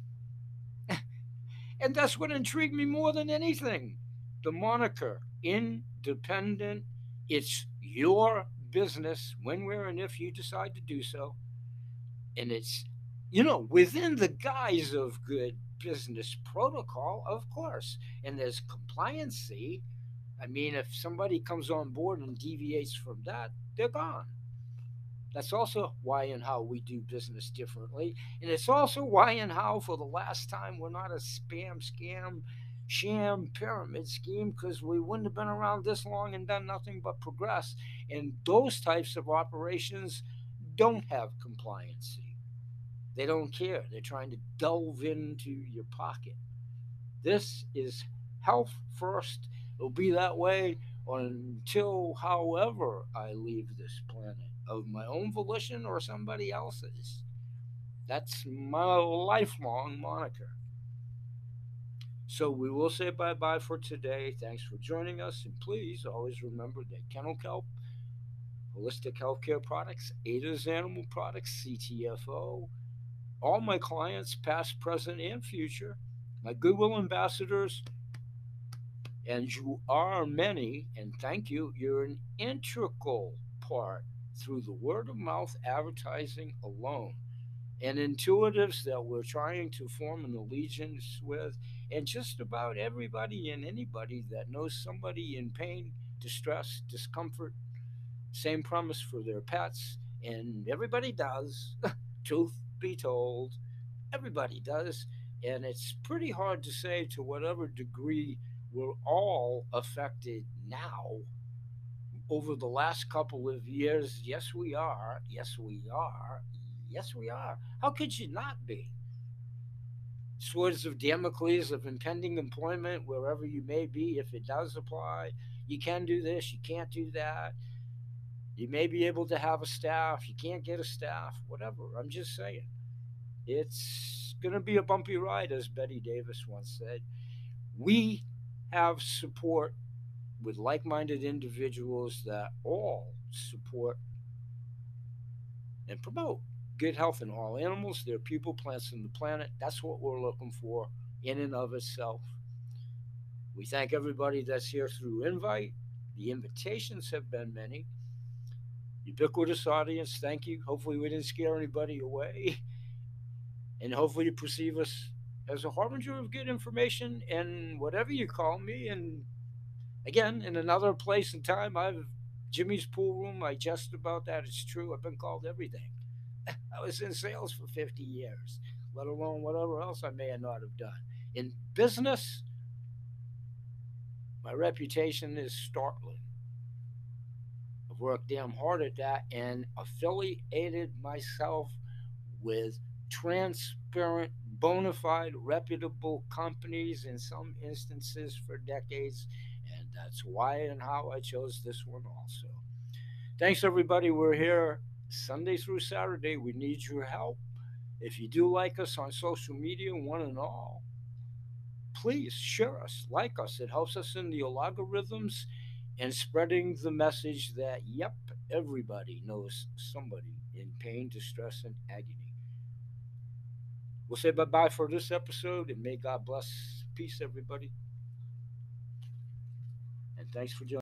And that's what intrigued me more than anything. The moniker, independent. It's your business when, where, and if you decide to do so. And it's, you know, within the guise of good business protocol, of course. And there's compliancy. I mean, if somebody comes on board and deviates from that, they're gone. That's also why and how we do business differently. And it's also why and how, for the last time, we're not a spam, scam, sham pyramid scheme, because we wouldn't have been around this long and done nothing but progress. And those types of operations don't have compliancy. They don't care. They're trying to delve into your pocket. This is health first. It'll be that way until, however, I leave this planet, of my own volition or somebody else's. That's my lifelong moniker. So we will say bye-bye for today. Thanks for joining us. And please always remember that Kennel Kelp, Holistic Healthcare Products, Ada's Animal Products, C T F O, all my clients, past, present, and future, my Goodwill ambassadors, and you are many, and thank you, you're an integral part through the word of mouth advertising alone, and intuitives that we're trying to form an allegiance with, and just about everybody and anybody that knows somebody in pain, distress, discomfort. Same premise for their pets, and everybody does. Truth be told, everybody does, and it's pretty hard to say to whatever degree we're all affected now over the last couple of years. Yes, we are. Yes, we are. Yes, we are. How could you not be? Swords of Damocles of impending employment, wherever you may be, if it does apply. You can do this, you can't do that. You may be able to have a staff, you can't get a staff, whatever. I'm just saying. It's going to be a bumpy ride, as Betty Davis once said. We have support with like-minded individuals that all support and promote good health in all animals, their people, plants, and the planet. That's what we're looking for in and of itself. We thank everybody that's here through invite. The invitations have been many. Ubiquitous audience, thank you. Hopefully we didn't scare anybody away. And hopefully you perceive us as a harbinger of good information and whatever you call me. And again, in another place and time, I've Jimmy's Pool Room. I jest about that. It's true. I've been called everything. I was in sales for fifty years, let alone whatever else I may not have done. In business, my reputation is startling. I've worked damn hard at that and affiliated myself with transparent, bona fide, reputable companies in some instances for decades. And that's why and how I chose this one also. Thanks, everybody. We're here Sunday through Saturday. We need your help. If you do like us on social media, one and all, please share us, like us. It helps us in the algorithms and spreading the message that, yep, everybody knows somebody in pain, distress, and agony. We'll say bye bye for this episode, and may God bless. Peace, everybody. And thanks for joining.